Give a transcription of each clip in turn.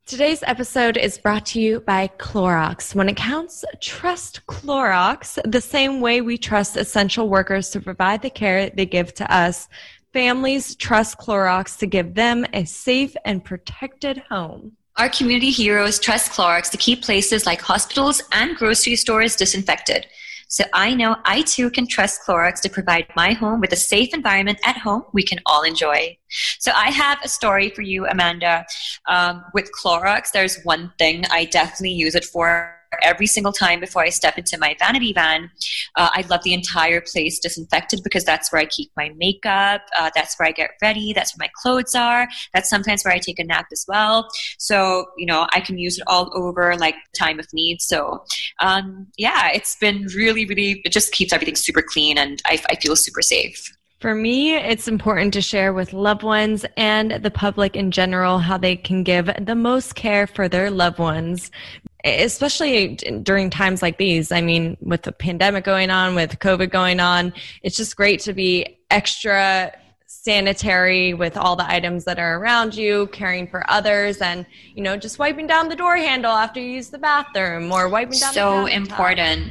Today's episode is brought to you by Clorox. When it counts, trust Clorox the same way we trust essential workers to provide the care they give to us. Families trust Clorox to give them a safe and protected home. Our community heroes trust Clorox to keep places like hospitals and grocery stores disinfected. So I know I too can trust Clorox to provide my home with a safe environment at home we can all enjoy. So I have a story for you, Amanda. With Clorox, there's one thing I definitely use it for every single time before I step into my vanity van. I love the entire place disinfected because that's where I keep my makeup. That's where I get ready. That's where my clothes are. That's sometimes where I take a nap as well. So, I can use it all over like time of need. So, it's been really, it just keeps everything super clean and I feel super safe. For me, it's important to share with loved ones and the public in general how they can give the most care for their loved ones, especially during times like these. I mean, with the pandemic going on, with COVID going on, it's just great to be extra sanitary with all the items that are around you, caring for others, and, just wiping down the door handle after you use the bathroom or wiping down so important.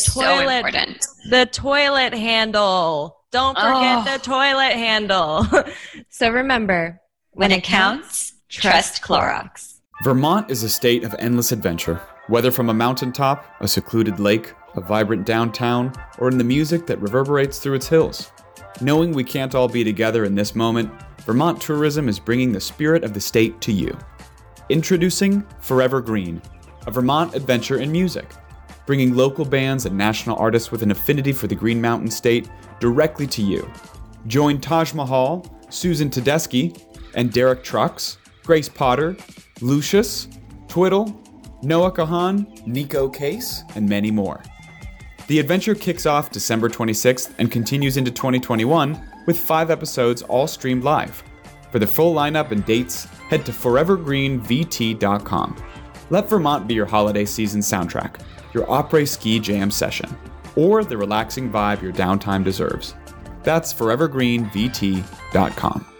The toilet handle. Don't forget the toilet handle. So remember, when it counts, trust Clorox. Vermont is a state of endless adventure, whether from a mountaintop, a secluded lake, a vibrant downtown, or in the music that reverberates through its hills. Knowing we can't all be together in this moment, Vermont Tourism is bringing the spirit of the state to you. Introducing Forever Green, a Vermont adventure in music, bringing local bands and national artists with an affinity for the Green Mountain State directly to you. Join Taj Mahal, Susan Tedeschi, and Derek Trucks, Grace Potter, Lucius, Twiddle, Noah Kahan, Nico Case, and many more. The adventure kicks off December 26th and continues into 2021 with 5 episodes all streamed live. For the full lineup and dates, head to forevergreenvt.com. Let Vermont be your holiday season soundtrack, your après-ski jam session, or the relaxing vibe your downtime deserves. That's forevergreenvt.com.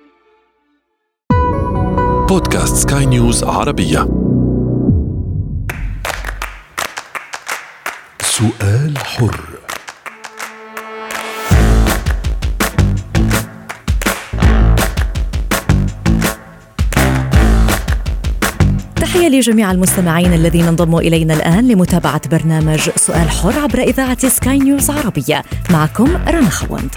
بودكاست سكاي نيوز عربية. سؤال حر. تحية لجميع المستمعين الذين انضموا إلينا الآن لمتابعة برنامج سؤال حر عبر إذاعة سكاي نيوز عربية. معكم رنا خوند.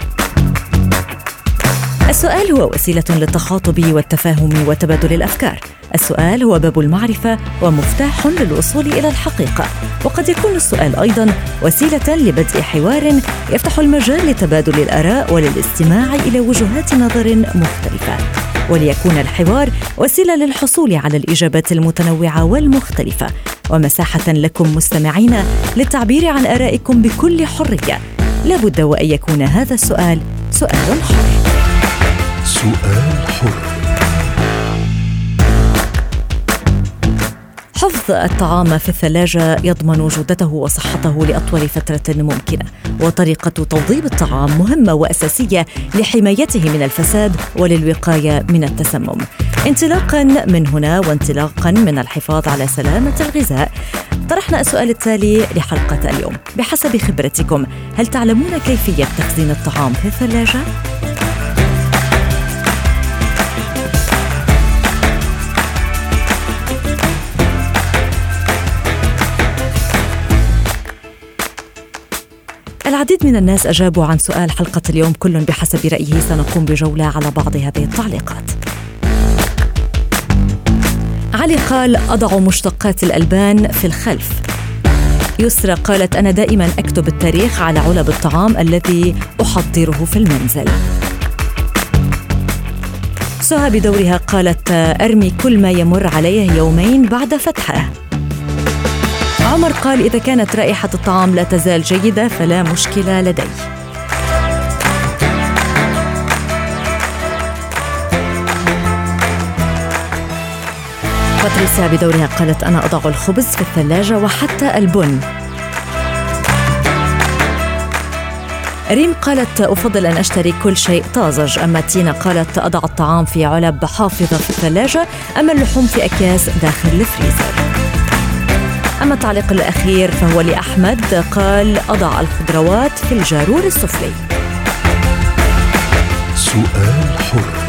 السؤال هو وسيلة للتخاطب والتفاهم وتبادل الأفكار. السؤال هو باب المعرفة ومفتاح للوصول إلى الحقيقة، وقد يكون السؤال أيضاً وسيلة لبدء حوار يفتح المجال لتبادل الآراء وللاستماع إلى وجهات نظر مختلفة، وليكون الحوار وسيلة للحصول على الإجابات المتنوعة والمختلفة ومساحة لكم مستمعين للتعبير عن آرائكم بكل حرية. لا بد وأن يكون هذا السؤال سؤال حر. سؤال حر. حفظ الطعام في الثلاجة يضمن جودته وصحته لأطول فترة ممكنة، وطريقة توضيب الطعام مهمة وأساسية لحمايته من الفساد وللوقاية من التسمم. انطلاقا من هنا وانطلاقا من الحفاظ على سلامة الغذاء، طرحنا السؤال التالي لحلقة اليوم: بحسب خبرتكم، هل تعلمون كيفية تخزين الطعام في الثلاجة؟ العديد من الناس أجابوا عن سؤال حلقة اليوم، كل بحسب رأيه. سنقوم بجولة على بعض هذه التعليقات. علي قال: أضع مشتقات الألبان في الخلف. يسرى قالت: أنا دائما أكتب التاريخ على علب الطعام الذي أحضره في المنزل. سهى بدورها قالت: أرمي كل ما يمر عليه يومين بعد فتحه. عمر قال: إذا كانت رائحة الطعام لا تزال جيدة فلا مشكلة لدي. باتريسيا بدورها قالت: أنا أضع الخبز في الثلاجة وحتى البن. ريم قالت أفضل أن أشتري كل شيء طازج. أما تينا قالت أضع الطعام في علب حافظة في الثلاجة، أما اللحوم في أكياس داخل الفريزر. أما التعليق الأخير فهو لأحمد، قال أضع الخضروات في الجارور السفلي. سؤال حر.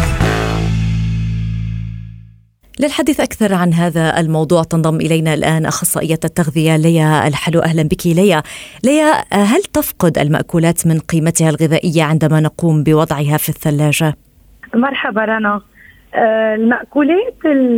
للحديث أكثر عن هذا الموضوع تنضم إلينا الآن أخصائية التغذية ليا الحلو. أهلا بك ليا، هل تفقد المأكولات من قيمتها الغذائية عندما نقوم بوضعها في الثلاجة؟ مرحبا رنا. المأكولات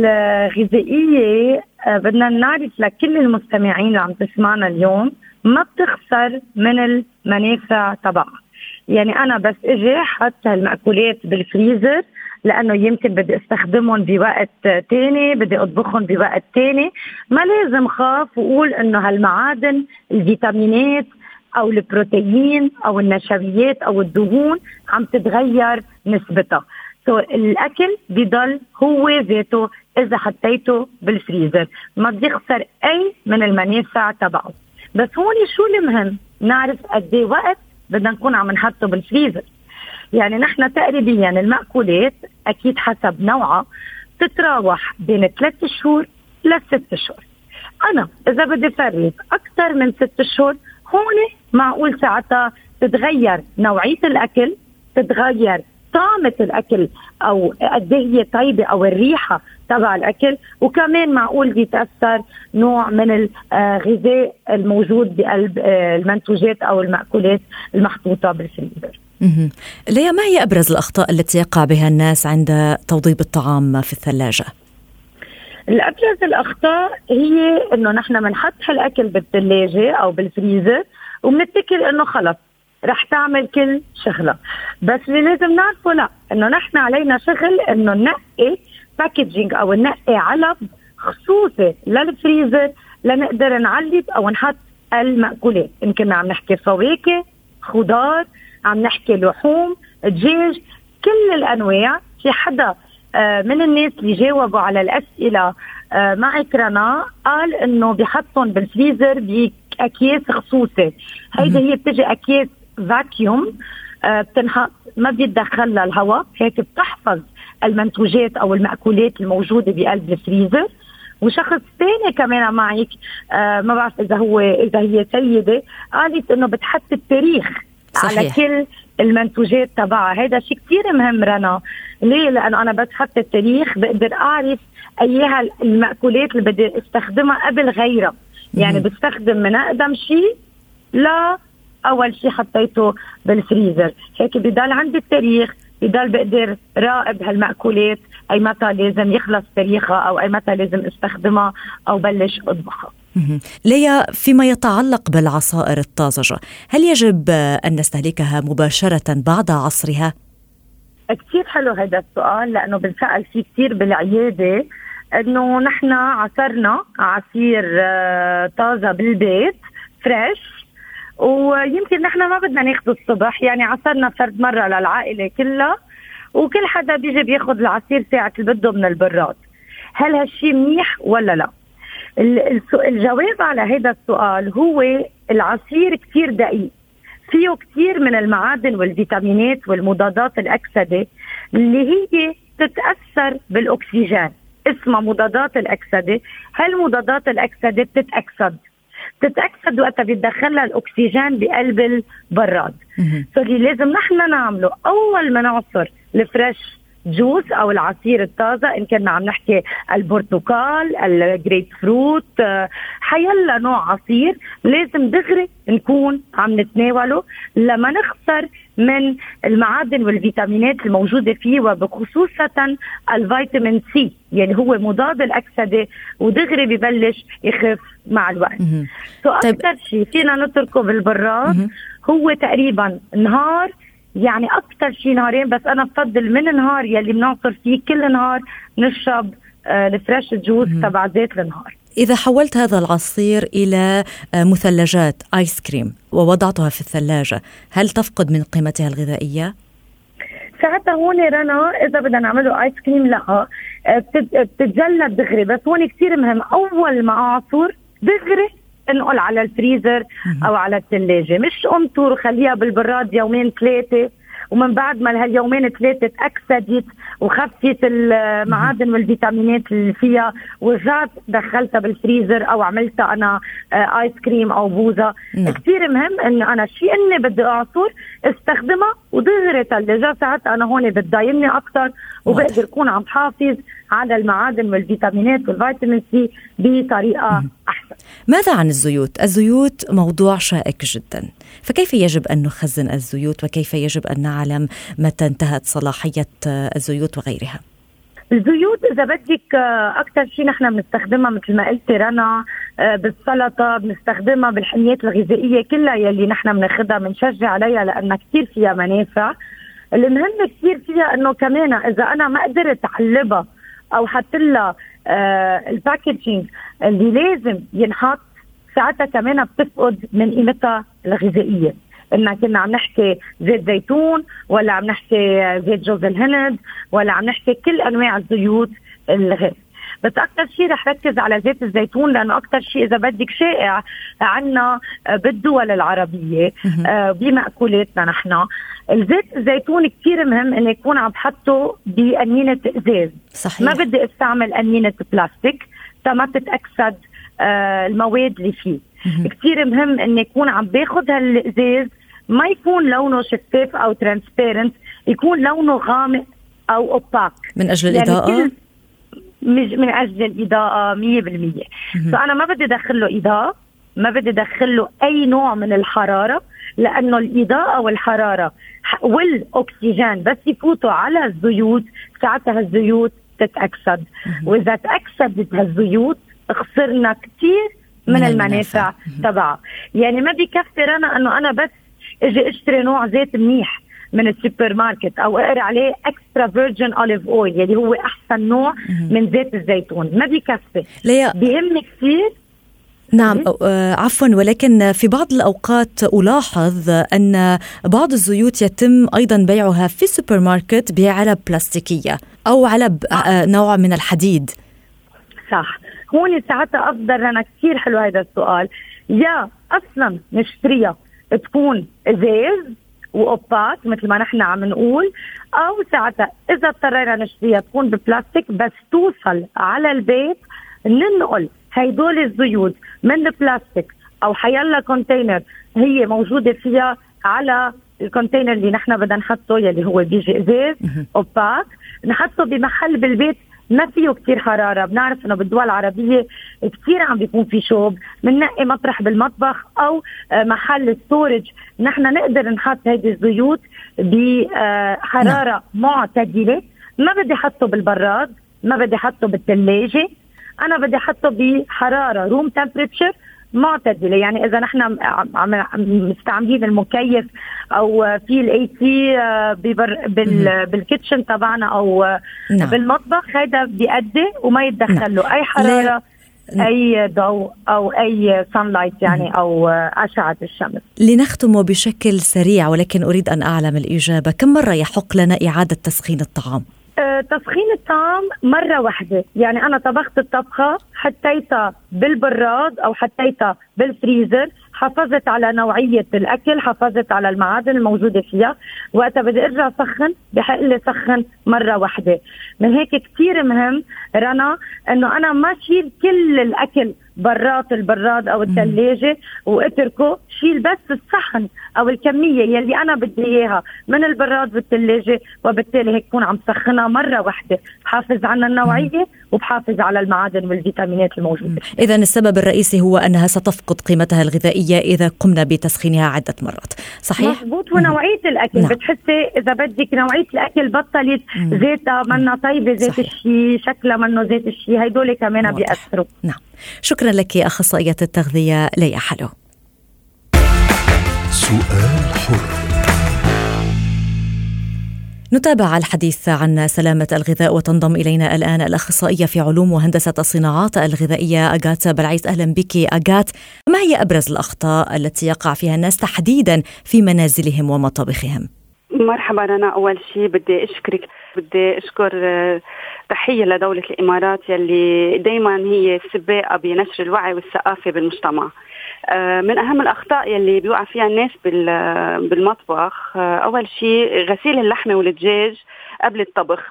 الغذائية بدنا نعرف لكل المستمعين اللي عم تسمعنا اليوم ما بتخسر من المنافع تبعها. يعني أنا بس إجي حط هالمأكولات بالفريزر لأنه يمكن بدي استخدمهم بوقت تاني، بدي أطبخهم بوقت تاني، ما لازم خاف وقول إنه هالمعادن الفيتامينات أو البروتين أو النشويات أو الدهون عم تتغير نسبتها. الأكل بيضل هو ذاته إذا حطيته بالفريزر، ما بيخسر أي من المنافع تبعه. بس هون شو المهم نعرف قد ايه وقت بدنا نكون عم نحطه بالفريزر. يعني نحن تقريبا المأكولات أكيد حسب نوعها تتراوح بين 3 شهور ل6 شهور. أنا إذا بدي فرز أكثر من 6 شهور هون معقول ساعتها تتغير نوعية الأكل، تتغير طعمة الأكل أو قد هي طيبة أو الريحة تبع الأكل، وكمان معقول يتأثر نوع من الغذاء الموجود بقلب المنتوجات أو المأكولات المحطوطة بالفريزر. ليا، ما هي أبرز الأخطاء التي يقع بها الناس عند توضيب الطعام في الثلاجة؟ الأبرز الأخطاء هي إنه نحن منحط هالأكل بالثلاجة أو بالفريزر وبنتكل إنه خلص رح تعمل كل شغلة. بس اللي لازم نعرفه لا، إنه نحن علينا شغل إنه ننقي باكيجينج أو ننقي علب خصوصي للفريزر لنقدر نعلب أو نحط المأكولات. إن كنا عم نحكي فواكه، خضار، عم نحكي لحوم، دجاج، كل الأنواع. في حدا من الناس اللي جاوبوا على الأسئلة معك رنا قال إنه بيحطهم بالفريزر بأكياس خصوصي. هيدا هي بتجي أكياس فاكيوم بتنحط ما بيتدخل لها الهواء، هيك بتحفظ المنتوجات أو المأكولات الموجودة بقلب الفريزر. وشخص ثاني كمان معك ما بعرف إذا هي سيدة قالت إنه بتحط التاريخ صحيح على كل المنتوجات تبعها. هذا شيء كتير مهم رنا. ليه؟ لأنه أنا بتحط التاريخ بقدر أعرف أيها المأكولات اللي بدي استخدمها قبل غيرها. يعني بستخدم من أقدم شيء لا أول شيء حطيته بالفريزر، هيك بضل عندي التاريخ، بضل بقدر راقب هالمأكولات أي متى لازم يخلص تاريخها أو أي متى لازم استخدمها أو بلش أطبخها. ليا، فيما يتعلق بالعصائر الطازجة، هل يجب أن نستهلكها مباشرة بعد عصرها؟ كتير حلو هذا السؤال لأنه بنسأل فيه كتير بالعيادة، إنه نحن عصرنا عصير طازة بالبيت فريش ويمكن نحن ما بدنا ناخده الصبح، يعني عصرنا فرد مرة للعائلة كلها وكل حدا بيجي بياخد العصير ساعة اللي بده من البراد. هل هالشي منيح ولا لا؟ الجواب على هذا السؤال هو العصير كتير دقيق، فيه كتير من المعادن والفيتامينات والمضادات الأكسدة اللي هي تتأثر بالأكسجين، اسمها مضادات الأكسدة. هالمضادات الأكسدة بتتأكسد وقتها بيتدخلها الأكسجين بقلب البراد. فاللي لازم نحن نعمله أول ما نعصر الفريش جوس أو العصير الطازة، إن كنا عم نحكي البرتقال، الجريب فروت، حيلا نوع عصير، لازم دغري نكون عم نتناوله لما نخسر من المعادن والفيتامينات الموجودة فيه، وبخصوصة الفيتامين سي يعني هو مضاد الأكسدة ودغري ببلش يخف مع الوقت. أكثر شيء فينا نتركه بالبراد هو تقريبا نهار، يعني أكثر شيء نهارين، بس أنا بفضل من النهار يلي بنعصر فيه كل نهار نشرب الفريش جوس تبع زيت النهار. إذا حولت هذا العصير إلى مثلجات آيس كريم ووضعتها في الثلاجة، هل تفقد من قيمتها الغذائية؟ ساعتها هون رنا إذا بدنا نعمله آيس كريم لا بتتجلد دغري، بس هون كتير مهم أول ما أعصر دغري انقل على الفريزر أو على الثلاجة. مش أمطر وخليها بالبراد يومين 3 ومن بعد ما هاليومين 3 تأكسدت وخفت المعادن والفيتامينات اللي فيها ورجعت دخلتها بالفريزر أو عملتها أنا آيس كريم أو بوزة. كتير مهم إنه أنا شيء إني بدي أعصر استخدمها ودغري ثلجها، ساعتها أنا هون بتضايمني أكتر وبقدر أكون عم حافظ على المعادن والفيتامينات والفيتامين سي بطريقة أحسن. ماذا عن الزيوت؟ الزيوت موضوع شائك جدا، فكيف يجب أن نخزن الزيوت وكيف يجب أن نعلم متى انتهت صلاحية الزيوت وغيرها؟ الزيوت إذا بدك أكتر شيء نحن بنستخدمها مثل ما قلت رنا بالسلطة، بنستخدمها بالحميات الغذائية كلها يلي نحن بناخدها بنشجع عليها لأنها كتير فيها منافع. المهم كتير فيها أنه كمان إذا أنا ما قدرت أعلبها أو حط لها الباكيجينج اللي لازم ينحط، ساعتها كمان بتفقد من قيمتها الغذائية. إننا كنا عم نحكي زيت زيتون ولا عم نحكي زيت جوز الهند ولا عم نحكي كل أنواع الزيوت الغير. بس أكتر شيء رح ركز على زيت الزيتون لأنه أكتر شيء إذا بدك شائع عنا بالدول العربية بمأكولاتنا نحن. الزيت الزيتون كتير مهم إنه يكون عم بحطه بأنينة إزاز. صحيح. ما بدي استعمل أنينة بلاستيك ما تتأكسد المواد اللي فيه. كتير مهم إنه يكون عم باخد هالإزاز ما يكون لونه شفاف أو ترانسبيرنت، يكون لونه غامق أو أوباك من أجل الإضاءة. يعني من أجل الإضاءة 100%. فأنا ما بدي أدخل له إضاءة، ما بدي أدخل له أي نوع من الحرارة، لأنه الإضاءة والحرارة والأكسجين بس يفوتوا على الزيوت ساعتها الزيوت تتأكسد. وإذا تأكسدت هالزيوت خسرنا كتير من المنافع تبعها. يعني ما بيكفي أنا أنه بس اجي اشتري نوع زيت منيح من السوبر ماركت او اقرا عليه اكسترا فيرجن اوليف اويل يلي هو احسن نوع من زيت الزيتون، ما بيكفي. بيهم كثير. نعم عفوا، ولكن في بعض الأوقات ألاحظ أن بعض الزيوت يتم أيضا بيعها في السوبر ماركت بعلب بلاستيكية أو علب نوع من الحديد. صح، هون ساعتها أفضل. أنا كثير حلو هذا السؤال. يا أصلا نشتريها تكون إزاز وأوباك مثل ما نحن عم نقول، أو ساعتها إذا اضطرينا نشتريها تكون ببلاستيك بس توصل على البيت. ننقل هيدول الزيوت من البلاستيك أو حيلا كونتينر هي موجودة فيها على الكونتينر اللي نحن بدنا نحطه يلي هو بيجي إزاز أوباك، نحطه بمحل بالبيت ما فيه كتير حرارة. بنعرف انه بالدول العربية كتير عم بيكون في شوب، مننقي مطرح بالمطبخ او محل ستورج نحن نقدر نحط هيدي الزيوت بحرارة معتدلة. ما بدي حطه بالبراد، ما بدي حطه بالثلاجة، انا بدي حطه بحرارة روم تمبريتشر معتدلة. يعني إذا نحن مستعملين المكيف أو في الأي سي بالكيتشن تبعنا أو بالمطبخ، هذا بيأدي وما يتدخل له أي حرارة أي ضوء أو أي sunlight يعني أو أشعة الشمس. لنختم بشكل سريع ولكن أريد أن أعلم الإجابة، كم مرة يحق لنا إعادة تسخين الطعام؟ تسخين الطعام مرة واحدة. يعني أنا طبخت الطبخة حطيتها بالبراد أو حطيتها بالفريزر، حافظت على نوعية الأكل، حافظت على المعادن الموجودة فيها، وقتها بدي أرجع سخن بحق لي سخن مرة واحدة. من هيك كتير مهم رنا أنه أنا ما شيل كل الأكل برات البراد أو الثلاجة واتركه، شيل بس الصحن أو الكمية يلي أنا بدي إياها من البراد والثلاجة، وبالتالي هيك كون عم سخنها مرة واحدة، بحافظ على النوعية وبحافظ على المعادن والفيتامينات الموجودة. إذن السبب الرئيسي هو أنها ستفقد قيمتها الغذائية إذا قمنا بتسخينها عدة مرات. صحيح؟ مضبوط. ونوعية الأكل بتحسي إذا بدك نوعية الأكل بطلت زيتها منا طيبة، زيت الشي شكلها منه زيت الشي، هيدول كمان بيأثروا. نعم، شكرا لك أخصائية التغذية ليا حلو. سؤال حر. نتابع الحديث عن سلامة الغذاء وتنضم إلينا الآن الأخصائية في علوم وهندسة الصناعات الغذائية أغات بلعيس. أهلا بك أغات. ما هي أبرز الأخطاء التي يقع فيها الناس تحديدا في منازلهم ومطابخهم؟ مرحبا. أنا أول شيء بدي أشكرك بدي أشكر تحية لدولة الإمارات يلي دايما هي سباقة بنشر الوعي والثقافة بالمجتمع. من أهم الأخطاء يلي بيوقع فيها الناس بالمطبخ، أول شيء غسيل اللحمة والدجاج قبل الطبخ.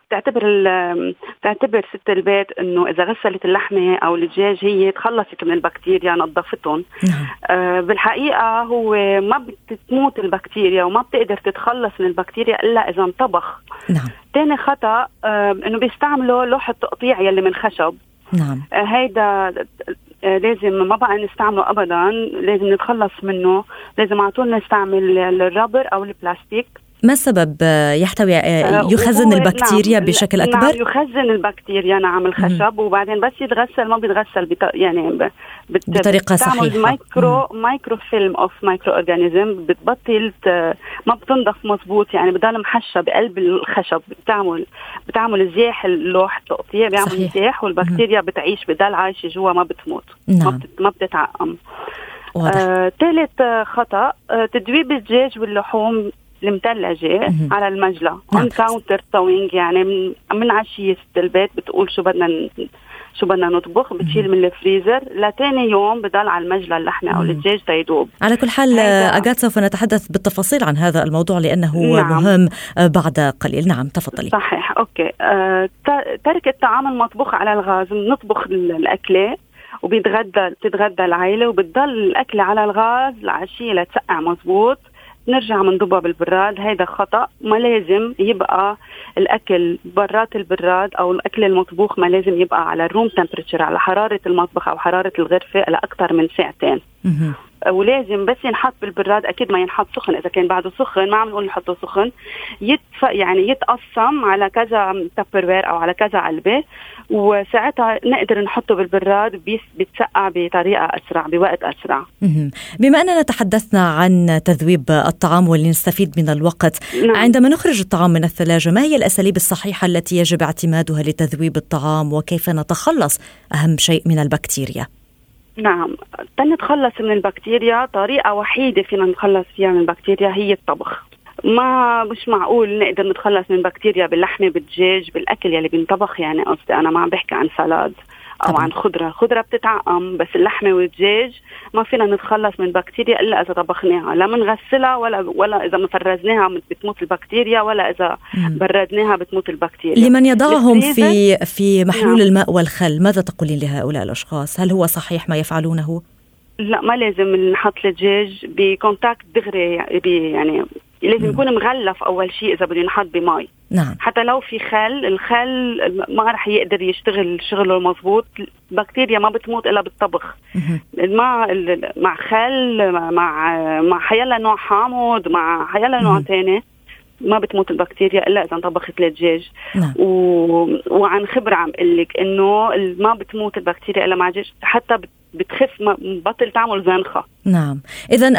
تعتبر ست البيت إنه إذا غسلت اللحمة أو الدجاج هي تخلصت من البكتيريا، نظفتهم. بالحقيقة هو ما بتموت البكتيريا وما بتقدر تتخلص من البكتيريا إلا إذا انطبخ. تاني خطأ إنه بيستعملوا لوحة تقطيع يلي من خشب. هيدا لازم ما بقى نستعمله أبدا، لازم نتخلص منه. لازم على طول نستعمل الرابر أو البلاستيك. ما سبب يحتوي يخزن البكتيريا بشكل أكبر؟ نعم يخزن البكتيريا، نعم الخشب. وبعدين بس يتغسل ما بيتغسل يعني بطريقة صحيحة. مايكرو فيلم أوف مايكرو أورجانيزم بتبطل ما بتنضف مزبوط، يعني بدل محشة بقلب الخشب. بتعمل زياح اللوح التقطيع، بيعمل زياح والبكتيريا بتعيش بدل عايشة جوا ما بتموت. ما بتتعقم. ثالث خطأ تدويب الدجاج واللحوم المثلجة على المجلة on counter towing، يعني من عشية ست البيت بتقول شو بدنا نطبخ، بتشيل من الفريزر لتاني يوم بدل على المجلة اللحمة أو الدجاج تيدوب. على كل حال أجات سوف نتحدث بالتفاصيل عن هذا الموضوع لأنه مهم بعد قليل. نعم تفضلي. صحيح. أوكي. ترك الطعام المطبوخ على الغاز. نطبخ الأكلة وبتتغدى العائلة وبتضل الأكلة على الغاز العشية لتسقع مزبوط، نرجع منضبها بالبراد. هيدا خطأ. ما لازم يبقى الأكل برات البراد أو الأكل المطبوخ ما لازم يبقى على الروم تمبريتشر، على حرارة المطبخ أو حرارة الغرفة لأكثر من ساعتين. ولازم بس ينحط بالبراد، أكيد ما ينحط سخن. إذا كان بعده سخن ما عم نقول نحطه سخن، يعني يتقسم على كذا تابروير أو على كذا علبة، وساعتها نقدر نحطه بالبراد بيتسقع بطريقة أسرع بوقت أسرع. بما أننا تحدثنا عن تذويب الطعام واللي نستفيد من الوقت، عندما نخرج الطعام من الثلاجة ما هي الأساليب الصحيحة التي يجب اعتمادها لتذويب الطعام، وكيف نتخلص أهم شيء من البكتيريا؟ نعم، تنتخلص من البكتيريا طريقة وحيدة فينا نتخلص فيها من البكتيريا هي الطبخ. مش معقول نقدر نتخلص من بكتيريا باللحمة بالدجاج بالأكل يلي بنطبخ. يعني قصدي أنا ما عم بحكي عن سلاد أو طبعا. عن خضرة بتتعقم، بس اللحمة والدجاج ما فينا نتخلص من بكتيريا إلا إذا طبخناها. لا منغسلها ولا إذا مفرزناها بتموت البكتيريا، ولا إذا بردناها بتموت البكتيريا. لمن يضعهم في محلول الماء والخل، ماذا تقولين لهؤلاء الأشخاص؟ هل هو صحيح ما يفعلونه؟ لا، ما لازم نحط الدجاج بكونتاكت دغري، يعني لازم يكون مغلف أول شيء إذا بده ينحط بماء. حتى لو في الخل ما رح يقدر يشتغل شغله المضبوط. البكتيريا ما بتموت إلا بالطبخ. مع خل، مع حيلا نوع حامض، مع حيلا نوع تاني ما بتموت البكتيريا إلا إذا انطبخت الدجاج. وعن خبرة عم قلك إنه ما بتموت البكتيريا إلا مع دجاج، حتى بتخف، ما بطل تعمل زنخة. نعم، إذن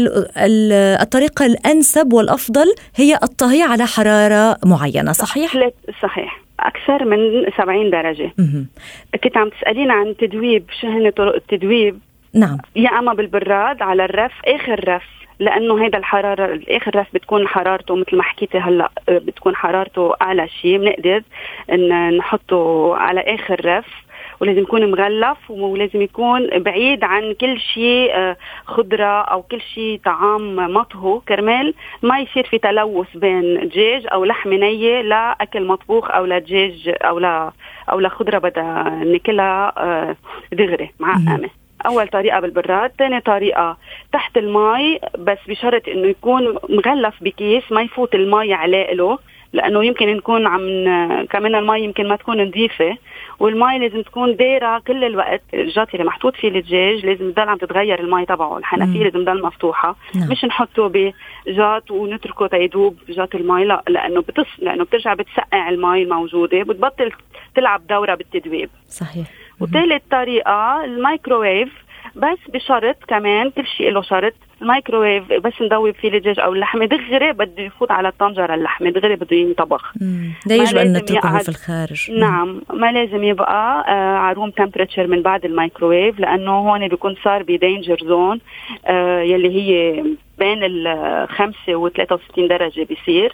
الطريقة الأنسب والأفضل هي الطهي على حرارة معينة، صحيح؟ صحيح، أكثر من 70 درجة. كنت عم تسألين عن تدويب، شو هن طرق التدويب؟ نعم، يا أما بالبراد على الرف، آخر رف، لأنه هيدا الحرارة آخر رف بتكون حرارته مثل ما حكيتي هلأ، بتكون حرارته أعلى شيء، بنقدر إن نحطه على آخر رف. ولازم يكون مغلف، ولازم يكون بعيد عن كل شيء خضرة أو كل شيء طعام مطهو، كرمال ما يصير في تلوث بين دجاج أو لحمة نية لأكل مطبوخ أو لدجاج أو لخضرة بدها ناكلها دغري معقمة. أول طريقة بالبراد. تاني طريقة تحت الماء، بس بشرط إنه يكون مغلف بكيس ما يفوت الماء عليه، لأنه يمكن نكون كمان الماء يمكن ما تكون نظيفة، والماء لازم تكون دايرة كل الوقت. الجات اللي محطوط فيه الدجاج لازم تضل عم تتغير الماء تبعه، الحنفية لازم تضل مفتوحة. مش نحطه بجات ونتركه تيدوب جات الماء، لا، لأنه بترجع بتسقع الماء الموجودة، بتبطل تلعب دورة بالتدويب. صحيح. وثالث طريقة الميكروويف، بس بشرط كمان، كل شيء له شرط. الميكروويف بس ندوب فيه الدجاج أو اللحمة دغري بده يفوت على الطنجرة، اللحمة دغري بده ينطبخ، لا يجب أن نتركه في الخارج. نعم، ما لازم يبقى على روم تمبريتشر من بعد الميكروويف، لأنه هون بيكون صار بدينجر زون يلي هي بين 5 و 63 درجة بيصير.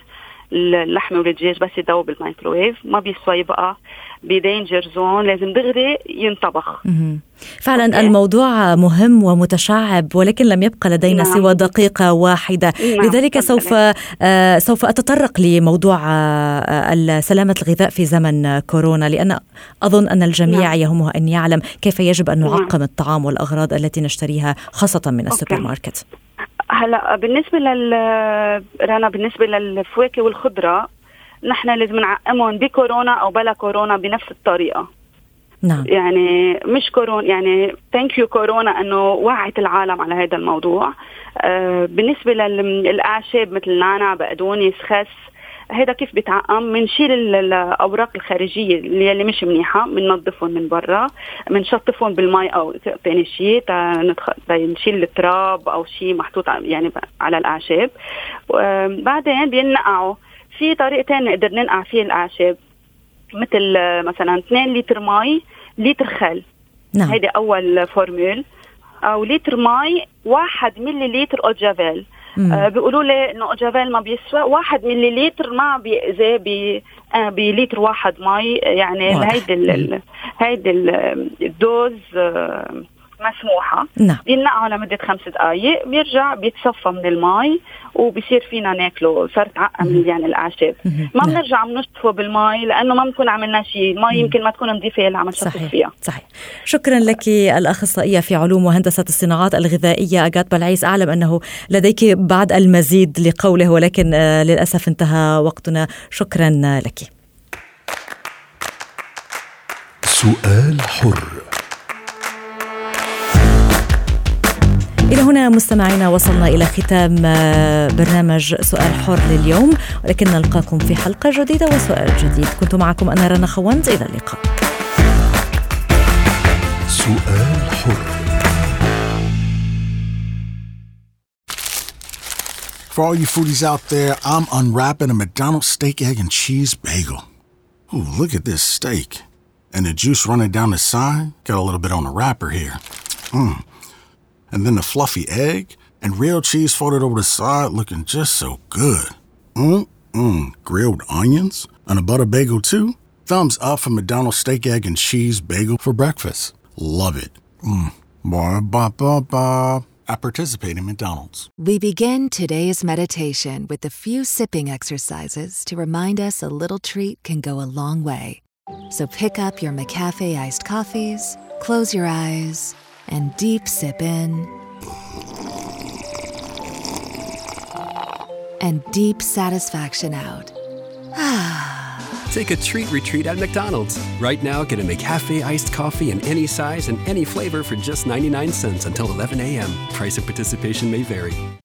اللحمة والدجاج بس يدوب بالمايكروويف، ما بيسوى يبقى بدينجر زون، لازم دغري ينطبخ. فعلا الموضوع مهم ومتشعب، ولكن لم يبقى لدينا سوى دقيقة واحدة. لذلك سوف أتطرق لموضوع سلامة الغذاء في زمن كورونا، لأن أظن أن الجميع يهمه أن يعلم كيف يجب أن نعقم الطعام والأغراض التي نشتريها خاصة من السوبر ماركت. هلا بالنسبة للفواكه والخضرة، نحن لازم نعقمهم بكورونا أو بلا كورونا بنفس الطريقة. نعم. يعني مش كورونا، يعني ثانك يو كورونا أنه وعت العالم على هذا الموضوع. بالنسبة للأعشاب مثل نعناع، بقدونس، خس، هذا كيف بيتعقم؟ منشيل الأوراق الخارجية اللي مش منيحة، مننظفهم من برا، منشطفهم بالماء أو ثاني شيء نشيل التراب أو شيء محطوط يعني على الأعشاب. بعدين بينقعوا في طريقتين نقدر ننقع فيه الأعشاب، مثل مثلا 2 لتر ماء، لتر خل. نعم. هيدا أول فورمول. أو لتر ماء، 1 ملي لتر أوجافيل. بيقولوا لي إنه أوجافيل ما بيسوى 1 ملي لتر، ما بيأذي بلتر 1 ماء. يعني هيدي الدوز مسموحة. نعم. بينقعوا لمدة 5 دقايق، بيرجع بيتصفى من الماء وبيصير فينا ناكله. صارت عقم يعني الأعشاب. ما بنرجع بنشطفه بالماء لأنه ما بنكون عملنا شيء. الماء يمكن ما تكون نظيفة اللي عم نشطف فيها. صحيح. شكرا لك الأخصائية في علوم وهندسة الصناعات الغذائية أغات بلعيس. أعلم أنه لديك بعد المزيد لقوله، ولكن للأسف انتهى وقتنا. شكرا لك. سؤال حر. إلى هنا مستمعينا وصلنا إلى ختام برنامج سؤال حر لليوم، ولكن نلقاكم في حلقة جديدة وسؤال جديد. كنت معكم أنا رنا خوند، إلى اللقاء. سؤال حر. For all you foodies out there, I'm unwrapping a McDonald's steak, egg, and cheese bagel. Ooh, look at this steak. And the juice running down the side. Got a little bit on the wrapper here. And then the fluffy egg and real cheese folded over the side, looking just so good. Grilled onions and a butter bagel too. Thumbs up for McDonald's steak, egg, and cheese bagel for breakfast. Love it. I participate in McDonald's. We begin today's meditation with a few sipping exercises to remind us a little treat can go a long way. So pick up your McCafe iced coffees, close your eyes, and deep sip in and deep satisfaction out. Take a treat retreat at McDonald's. Right now, get a McCafe iced coffee in any size and any flavor for just 99 cents until 11 a.m. Price of participation may vary.